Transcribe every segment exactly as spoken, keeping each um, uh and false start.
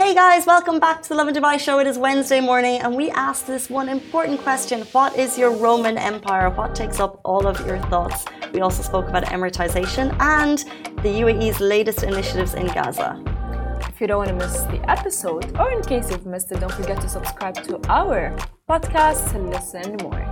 Hey guys, welcome back to the Lovin Dubai show. It is Wednesday morning and we asked this one important question. What is your Roman Empire? What takes up all of your thoughts? We also spoke about Emiratization and the U A E's latest initiatives in Gaza. If you don't want to miss the episode, or in case you've missed it, don't forget to subscribe to our podcast to listen more.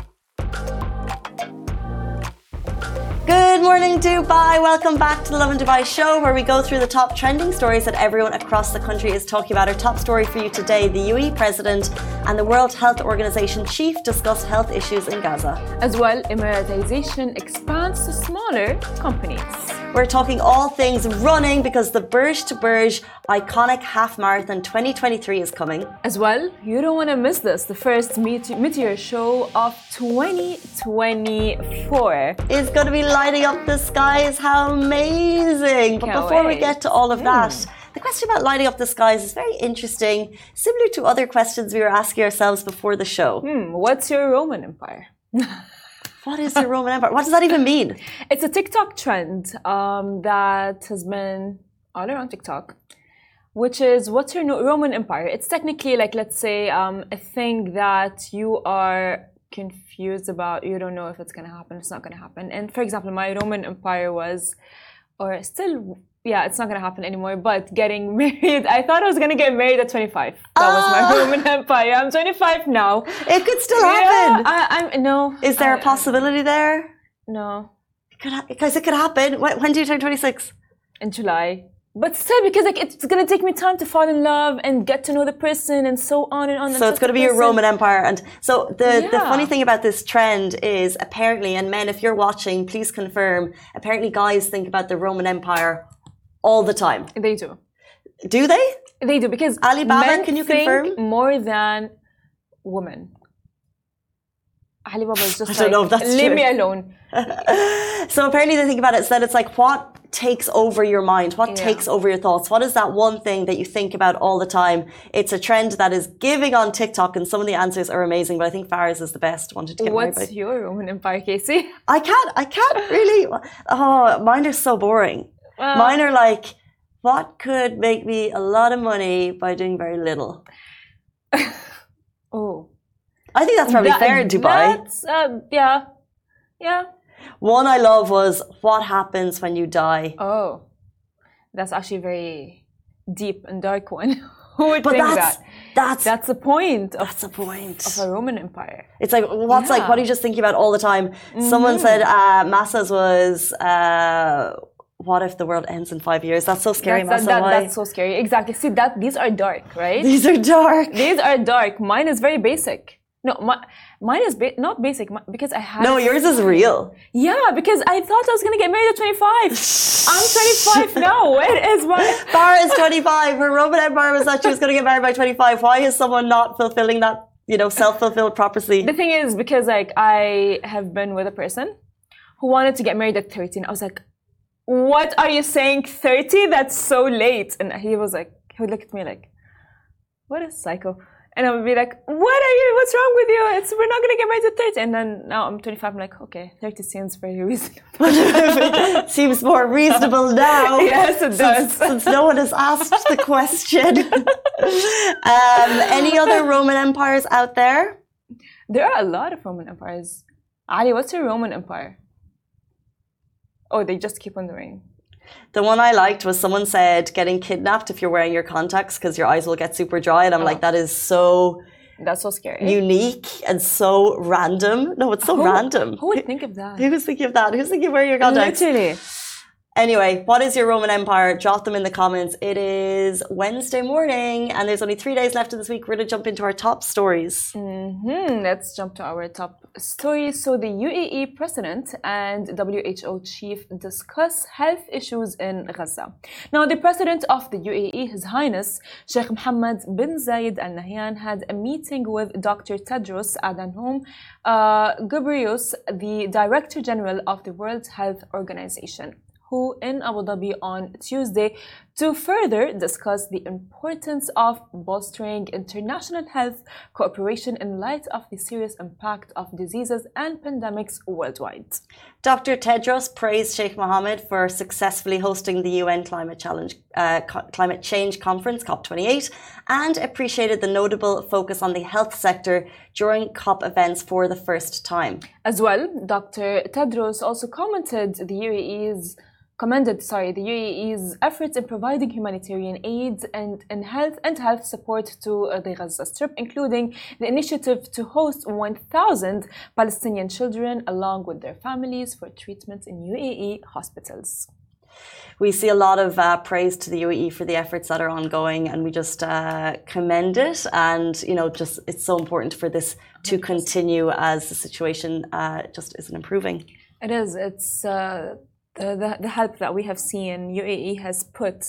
Good morning, Dubai. Welcome back to the Lovin Dubai show, where we go through the top trending stories that everyone across the country is talking about. Our top story for you today: the U A E president and the World Health Organization chief discuss health issues in Gaza. As well, Emiratization expands to smaller companies. We're talking all things running because the Burj to Burj iconic half marathon twenty twenty-three is coming. As well, you don't want to miss this, the first Meteor, meteor show of twenty twenty-four. It's going to be lighting up the skies. How amazing! But Can't before wait. we get to all of that, Mm. the question about lighting up the skies is very interesting, similar to other questions we were asking ourselves before the show. Hmm, what's your Roman Empire? What is the Roman Empire? What does that even mean? It's a TikTok trend um, that has been all around TikTok, which is what's your no- Roman Empire? It's technically like, let's say, um, a thing that you are confused about. You don't know if it's going to happen, it's not going to happen. And for example, my Roman Empire was, or still, yeah, it's not going to happen anymore, but getting married. I thought I was going to get married at twenty-five. That was my Ah. Roman Empire. I'm twenty-five now. It could still happen. Yeah, I, I'm, no. Is there I- a possibility there? No. It could ha- because it could happen. When, when do you turn twenty-six? In July. But still, because like it's gonna take me time to fall in love and get to know the person and so on and on. and So it's such going to a be your person. Roman Empire. And so the, the Yeah. funny thing about this trend is apparently, and men, if you're watching, please confirm, apparently guys think about the Roman Empire all the time. They do. Do they? They do because Alibaba, men can you think confirm? more than women. Alibaba is just I don't like, know if that's leave true. me alone. So apparently they think about it, so that it's like what takes over your mind, what Yeah. takes over your thoughts, what is that one thing that you think about all the time? It's a trend that is giving on TikTok, and some of the answers are amazing, but I think Farah's is the best. Wanted to get married What's by. your Roman Empire, Casey? I can't, I can't really. Oh, mine are so boring. Well, Mine are like, what could make me a lot of money by doing very little? oh, I think that's probably That- fair in Dubai. That's uh, yeah, yeah. One I love was, what happens when you die? Oh, that's actually a very deep and dark one. Who would But think that's, that? that's, That's the point of, that's the point. of a Roman Empire. It's like, what's like, Yeah. what are you just thinking about all the time? Someone said uh, Massa's was, uh, what if the world ends in five years? That's so scary, That's, Massa. that, that, Why? that's so scary. Exactly. See, that these are dark, right? These are dark. These are dark. Mine is very basic. No, my, mine is ba- not basic mi- because I had. No, yours is real. Yeah, because I thought I was gonna get married at twenty-five. I'm twenty-five now. Where is my? Farah is twenty-five. Her Roman Empire was that she was going to get married by twenty-five. Why is someone not fulfilling that, you know, self-fulfilled prophecy? The thing is, because like I have been with a person who wanted to get married at thirteen. I was like, "What are you saying? thirty? That's so late." And he was like, he would look at me like, "What a psycho." And I would be like, "What are you? What's wrong with you? It's we're not gonna get married at thirty." And then now I'm twenty-five. I'm like, "Okay, thirty seems very reasonable." Seems more reasonable now. Yes, it does. Since, since no one has asked the question. um, any other Roman empires out there? There are a lot of Roman empires. Ali, what's your Roman empire? Oh, they just keep on doing. The one I liked was someone said getting kidnapped if you're wearing your contacts because your eyes will get super dry. And I'm Oh. like, that is so That's so scary. unique and so random. No, it's so Who- random. Who would think of that? Who's thinking of that? Who's thinking of wearing your contacts? Literally. Anyway, what is your Roman Empire? Drop them in the comments. It is Wednesday morning and there's only three days left of this week. We're going to jump into our top stories. Hmm, let's jump to our top story. So the U A E president and W H O chief discuss health issues in Gaza. Now, the president of the U A E, His Highness Sheikh Mohammed bin Zayed Al Nahyan, had a meeting with Doctor Tedros Adhanom uh, Ghebreyesus, the Director General of the World Health Organization, Netanyahu in Abu Dhabi on Tuesday to further discuss the importance of bolstering international health cooperation in light of the serious impact of diseases and pandemics worldwide. Doctor Tedros praised Sheikh Mohammed for successfully hosting the U N Climate Challenge, uh, Climate Change Conference, COP twenty-eight, and appreciated the notable focus on the health sector during COP events for the first time. As well, Doctor Tedros also commented the U A E's commended sorry the U A E's efforts in providing humanitarian aid and, and health and health support to uh, the Gaza Strip, including the initiative to host one thousand Palestinian children along with their families for treatment in U A E hospitals. We see a lot of uh, praise to the U A E for the efforts that are ongoing, and we just uh, commend it. And you know, just it's so important for this to continue as the situation uh, just isn't improving. It is. It's uh, the, the the help that we have seen U A E has put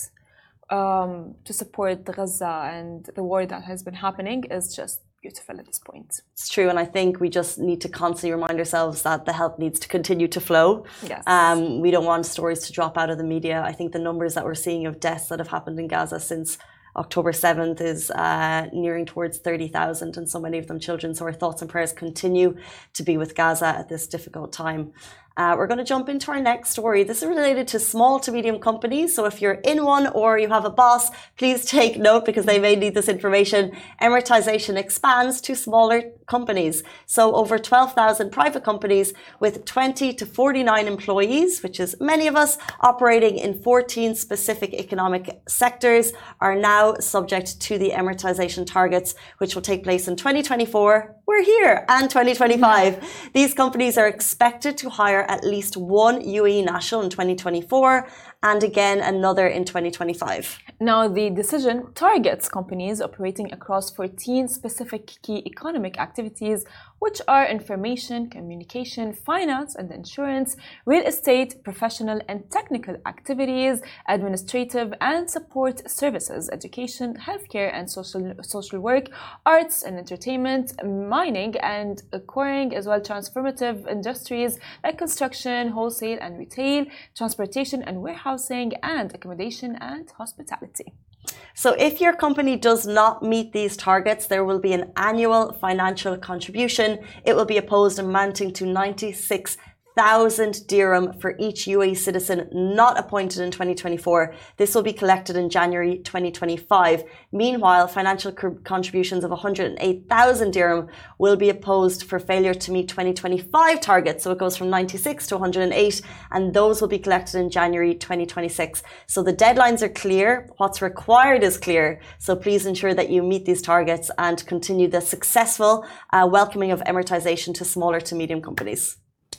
um, to support Gaza and the war that has been happening is just beautiful at this point. It's true, and I think we just need to constantly remind ourselves that the help needs to continue to flow. Yes. Um, we don't want stories to drop out of the media. I think the numbers that we're seeing of deaths that have happened in Gaza since October seventh is uh, nearing towards thirty thousand, and so many of them children. So our thoughts and prayers continue to be with Gaza at this difficult time. Uh, we're going to jump into our next story. This is related to small to medium companies. So if you're in one or you have a boss, please take note because they may need this information. Emiratization expands to smaller companies. So over twelve thousand private companies with twenty to forty-nine employees, which is many of us, operating in fourteen specific economic sectors, are now subject to the Emiratization targets, which will take place in twenty twenty-four. We're here, and twenty twenty-five. These companies are expected to hire at least one U A E national in twenty twenty-four and again another in twenty twenty-five. Now, the decision targets companies operating across fourteen specific key economic activities, which are information, communication, finance and insurance, real estate, professional and technical activities, administrative and support services, education, healthcare and social social work, arts and entertainment, mining and quarrying, as well transformative industries like construction, wholesale and retail, transportation and warehousing, and accommodation and hospitality. So if your company does not meet these targets, there will be an annual financial contribution. It will be opposed amounting to ninety-six thousand dirham for each U A E citizen not appointed in twenty twenty-four. This will be collected in January twenty twenty-five. Meanwhile, financial contributions of one hundred eight thousand dirham will be opposed for failure to meet twenty twenty-five targets. So it goes from ninety-six to one hundred eight, and those will be collected in January twenty twenty-six. So the deadlines are clear. What's required is clear. So please ensure that you meet these targets and continue the successful uh, welcoming of Emiratization to smaller to medium companies.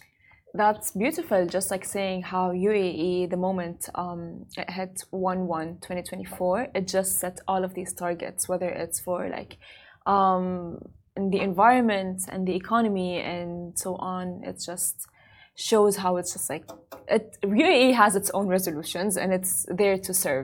That's beautiful, just like saying how U A E, the moment um, it hit one one twenty twenty-four, it just set all of these targets, whether it's for like um, in the environment and the economy and so on. It just shows how it's just like, it, U A E has its own resolutions and it's there to serve.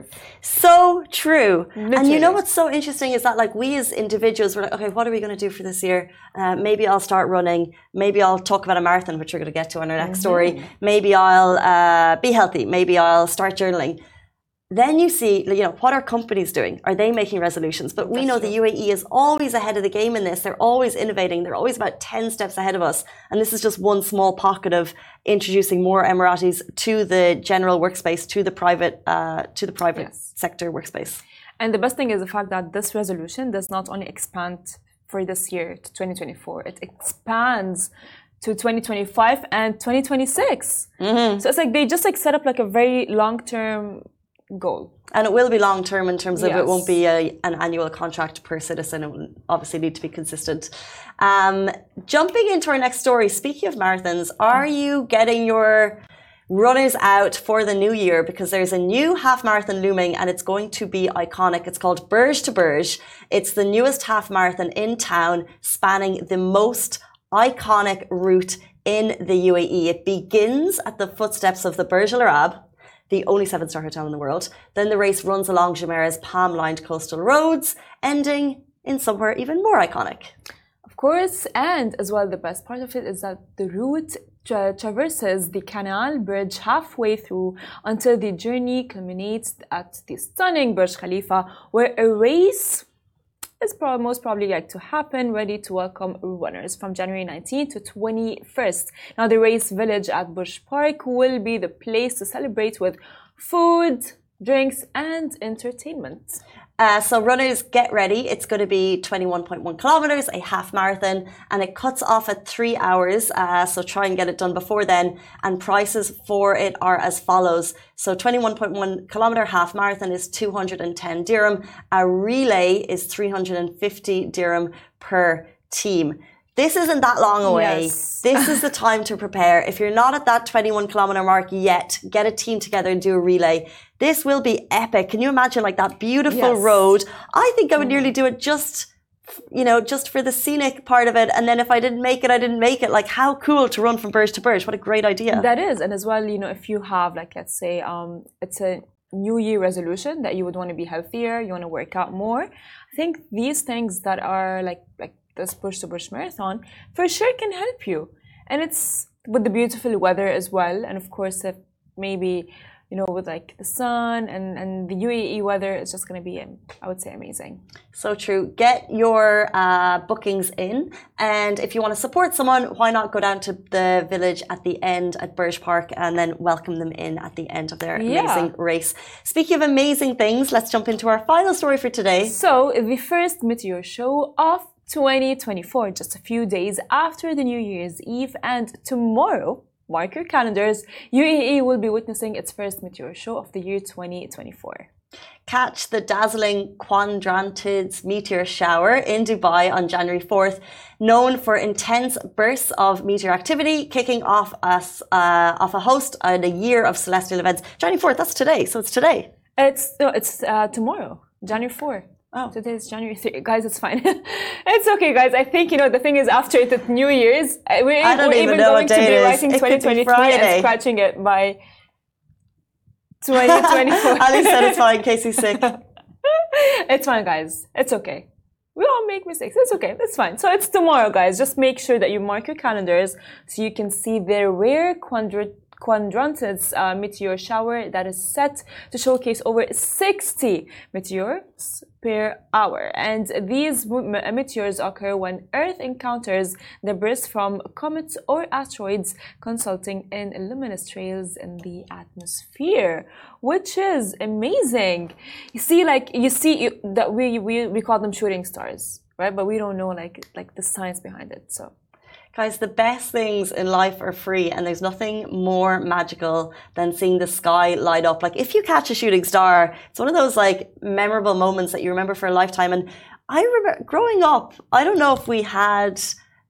So true. Literally. And you know what's so interesting is that like we as individuals, we're like, okay, what are we going to do for this year? Uh, maybe I'll start running. Maybe I'll talk about a marathon, which we're going to get to in our next mm-hmm. story. Maybe I'll uh, be healthy. Maybe I'll start journaling. Then you see, you know, what are companies doing? Are they making resolutions? But we That's know true. The U A E is always ahead of the game in this. They're always innovating. They're always about ten steps ahead of us. And this is just one small pocket of introducing more Emiratis to the general workspace, to the private, uh, to the private yes. sector workspace. And the best thing is the fact that this resolution does not only expand for this year to twenty twenty-four, it expands to twenty twenty-five and twenty twenty-six. Mm-hmm. So it's like they just like set up like a very long-term goal. And it will be long term in terms of yes. it won't be a, an annual contract per citizen. It will obviously need to be consistent. Um, jumping into our next story, speaking of marathons, are you getting your runners out for the new year? Because there's a new half marathon looming and it's going to be iconic. It's called Burj to Burj. It's the newest half marathon in town, spanning the most iconic route in the U A E. It begins at the footsteps of the Burj Al Arab, the only seven-star hotel in the world. Then the race runs along Jumeirah's palm-lined coastal roads, ending in somewhere even more iconic. Of course, and as well, the best part of it is that the route tra traverses the canal bridge halfway through until the journey culminates at the stunning Burj Khalifa, where a race is probably, most probably like to happen, ready to welcome runners from January nineteenth to twenty-first. Now, the race village at Burj Park will be the place to celebrate with food, drinks, and entertainment. Uh, so runners, get ready. It's going to be twenty-one point one kilometers, a half marathon, and it cuts off at three hours. Uh, so try and get it done before then. And prices for it are as follows. So twenty-one point one kilometer half marathon is two hundred ten dirham. A relay is three hundred fifty dirham per team. This isn't that long away. Yes. This is the time to prepare. If you're not at that twenty-one kilometer mark yet, get a team together and do a relay. This will be epic. Can you imagine like that beautiful Yes. road? I think I would nearly do it just, you know, just for the scenic part of it. And then if I didn't make it, I didn't make it. Like how cool to run from Burj to Burj. What a great idea. That is, and as well, you know, if you have like, let's say, um, it's a New Year resolution that you would want to be healthier, you want to work out more. I think these things that are like like this Burj to Burj marathon for sure can help you, and it's with the beautiful weather as well, and of course, if maybe you know with like the sun and and the U A E weather, it's just going to be, I would say, amazing. So true. Get your uh, bookings in, and if you want to support someone, why not go down to the village at the end at Burj Park and then welcome them in at the end of their Yeah. amazing race. Speaking of amazing things, let's jump into our final story for today. So the first meteor show of twenty twenty-four, just a few days after the New Year's Eve, and tomorrow, mark your calendars, U A E will be witnessing its first meteor show of the year twenty twenty-four. Catch the dazzling Quadrantids meteor shower in Dubai on January fourth, known for intense bursts of meteor activity, kicking off us uh, off a host and a year of celestial events. January fourth, that's today, so it's today. It's no, it's uh, tomorrow, January fourth. Oh. Today is January third. Guys, it's fine. It's okay, guys. I think, you know, the thing is after the New Year's, uh, we're, I don't we're even even know going what to day be it is. writing It could be twenty twenty-three Friday. and scratching it by twenty twenty-four. Ali said it's fine in case he's sick. It's fine, guys. It's okay. We all make mistakes. It's okay. It's fine. So it's tomorrow, guys. Just make sure that you mark your calendars so you can see the rare quadrat Quadrantids uh, meteor shower that is set to showcase over sixty meteors per hour. And these meteors occur when Earth encounters debris from comets or asteroids, resulting in luminous trails in the atmosphere, which is amazing. You see, like you see that we we we call them shooting stars, right? But we don't know like like the science behind it. So. Guys, the best things in life are free, and there's nothing more magical than seeing the sky light up. Like if you catch a shooting star, it's one of those like memorable moments that you remember for a lifetime. And I remember growing up, I don't know if we had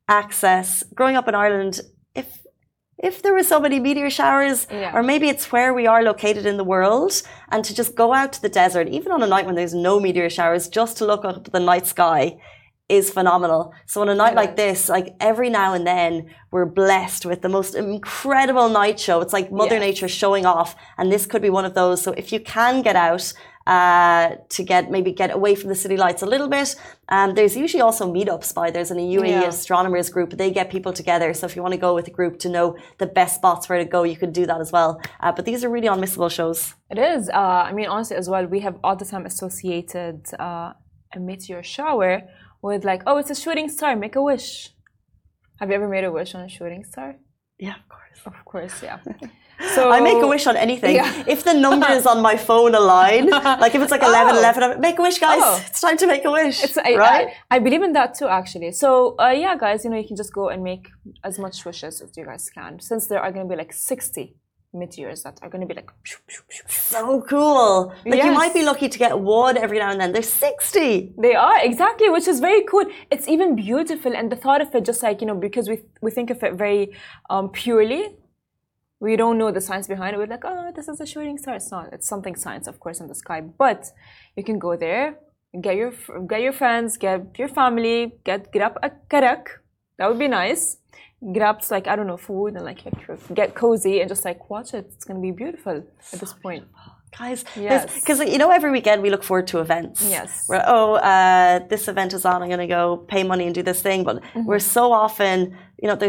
access growing up in Ireland, if if there were so many meteor showers, Yeah. or maybe it's where we are located in the world, and to just go out to the desert, even on a night when there's no meteor showers, just to look up at the night sky is phenomenal. So on a night like this, like every now and then, we're blessed with the most incredible night show. It's like Mother Yes. Nature showing off, and this could be one of those. So if you can get out uh, to get maybe get away from the city lights a little bit, um, there's usually also meetups by there's an U A E Yeah. astronomers group. They get people together. So if you want to go with a group to know the best spots where to go, you could do that as well. Uh, but these are really unmissable shows. It is. Uh, I mean, honestly, as well, we have all the time associated uh, a meteor shower with like, oh, it's a shooting star, make a wish. Have you ever made a wish on a shooting star? Yeah, of course. Of course, yeah. So I make a wish on anything. Yeah. If the numbers on my phone align, like if it's like eleven eleven, I'm, make a wish, guys. Oh. It's time to make a wish. It's, I, right? I, I believe in that too, actually. So, uh, yeah, guys, you know, you can just go and make as much wishes as you guys can, since there are going to be like sixty meteors that are going to be like shoo, shoo, shoo, shoo. So cool. Like you Yes. might be lucky to get one every now and then. There's sixty. They are, exactly, which is very cool. It's even beautiful, and the thought of it, just like, you know, because we we think of it very um, purely, we don't know the science behind it. We're like, oh, this is a shooting star. It's not. It's something science, of course, in the sky. But you can go there, get your get your friends, get your family, get get up a karak. That would be nice. Get up to, like, I don't know, food, and like get cozy and just like watch it. It's gonna be beautiful at this point. Guys, Yes. because you know every weekend we look forward to events. Yes. We're, oh, uh, this event is on. I'm going to go pay money and do this thing. But Mm-hmm. we're so often, you know, there's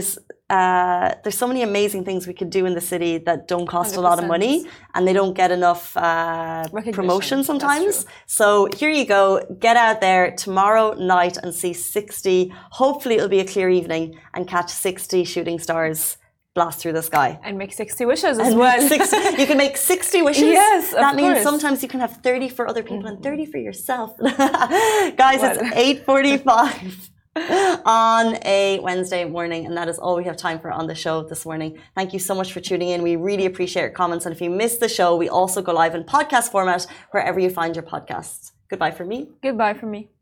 uh, there's so many amazing things we could do in the city that don't cost a lot of money, and they don't get enough uh, promotion sometimes. So here you go. Get out there tomorrow night and see sixty. Hopefully it'll be a clear evening and catch sixty shooting stars blast through the sky. And make sixty wishes as and well. sixty, you can make sixty wishes. Yes, of That means course. sometimes you can have thirty for other people mm-hmm. and thirty for yourself. Guys, well. It's eight forty-five on a Wednesday morning, and that is all we have time for on the show this morning. Thank you so much for tuning in. We really appreciate your comments, and if you missed the show, we also go live in podcast format wherever you find your podcasts. Goodbye from me. Goodbye from me.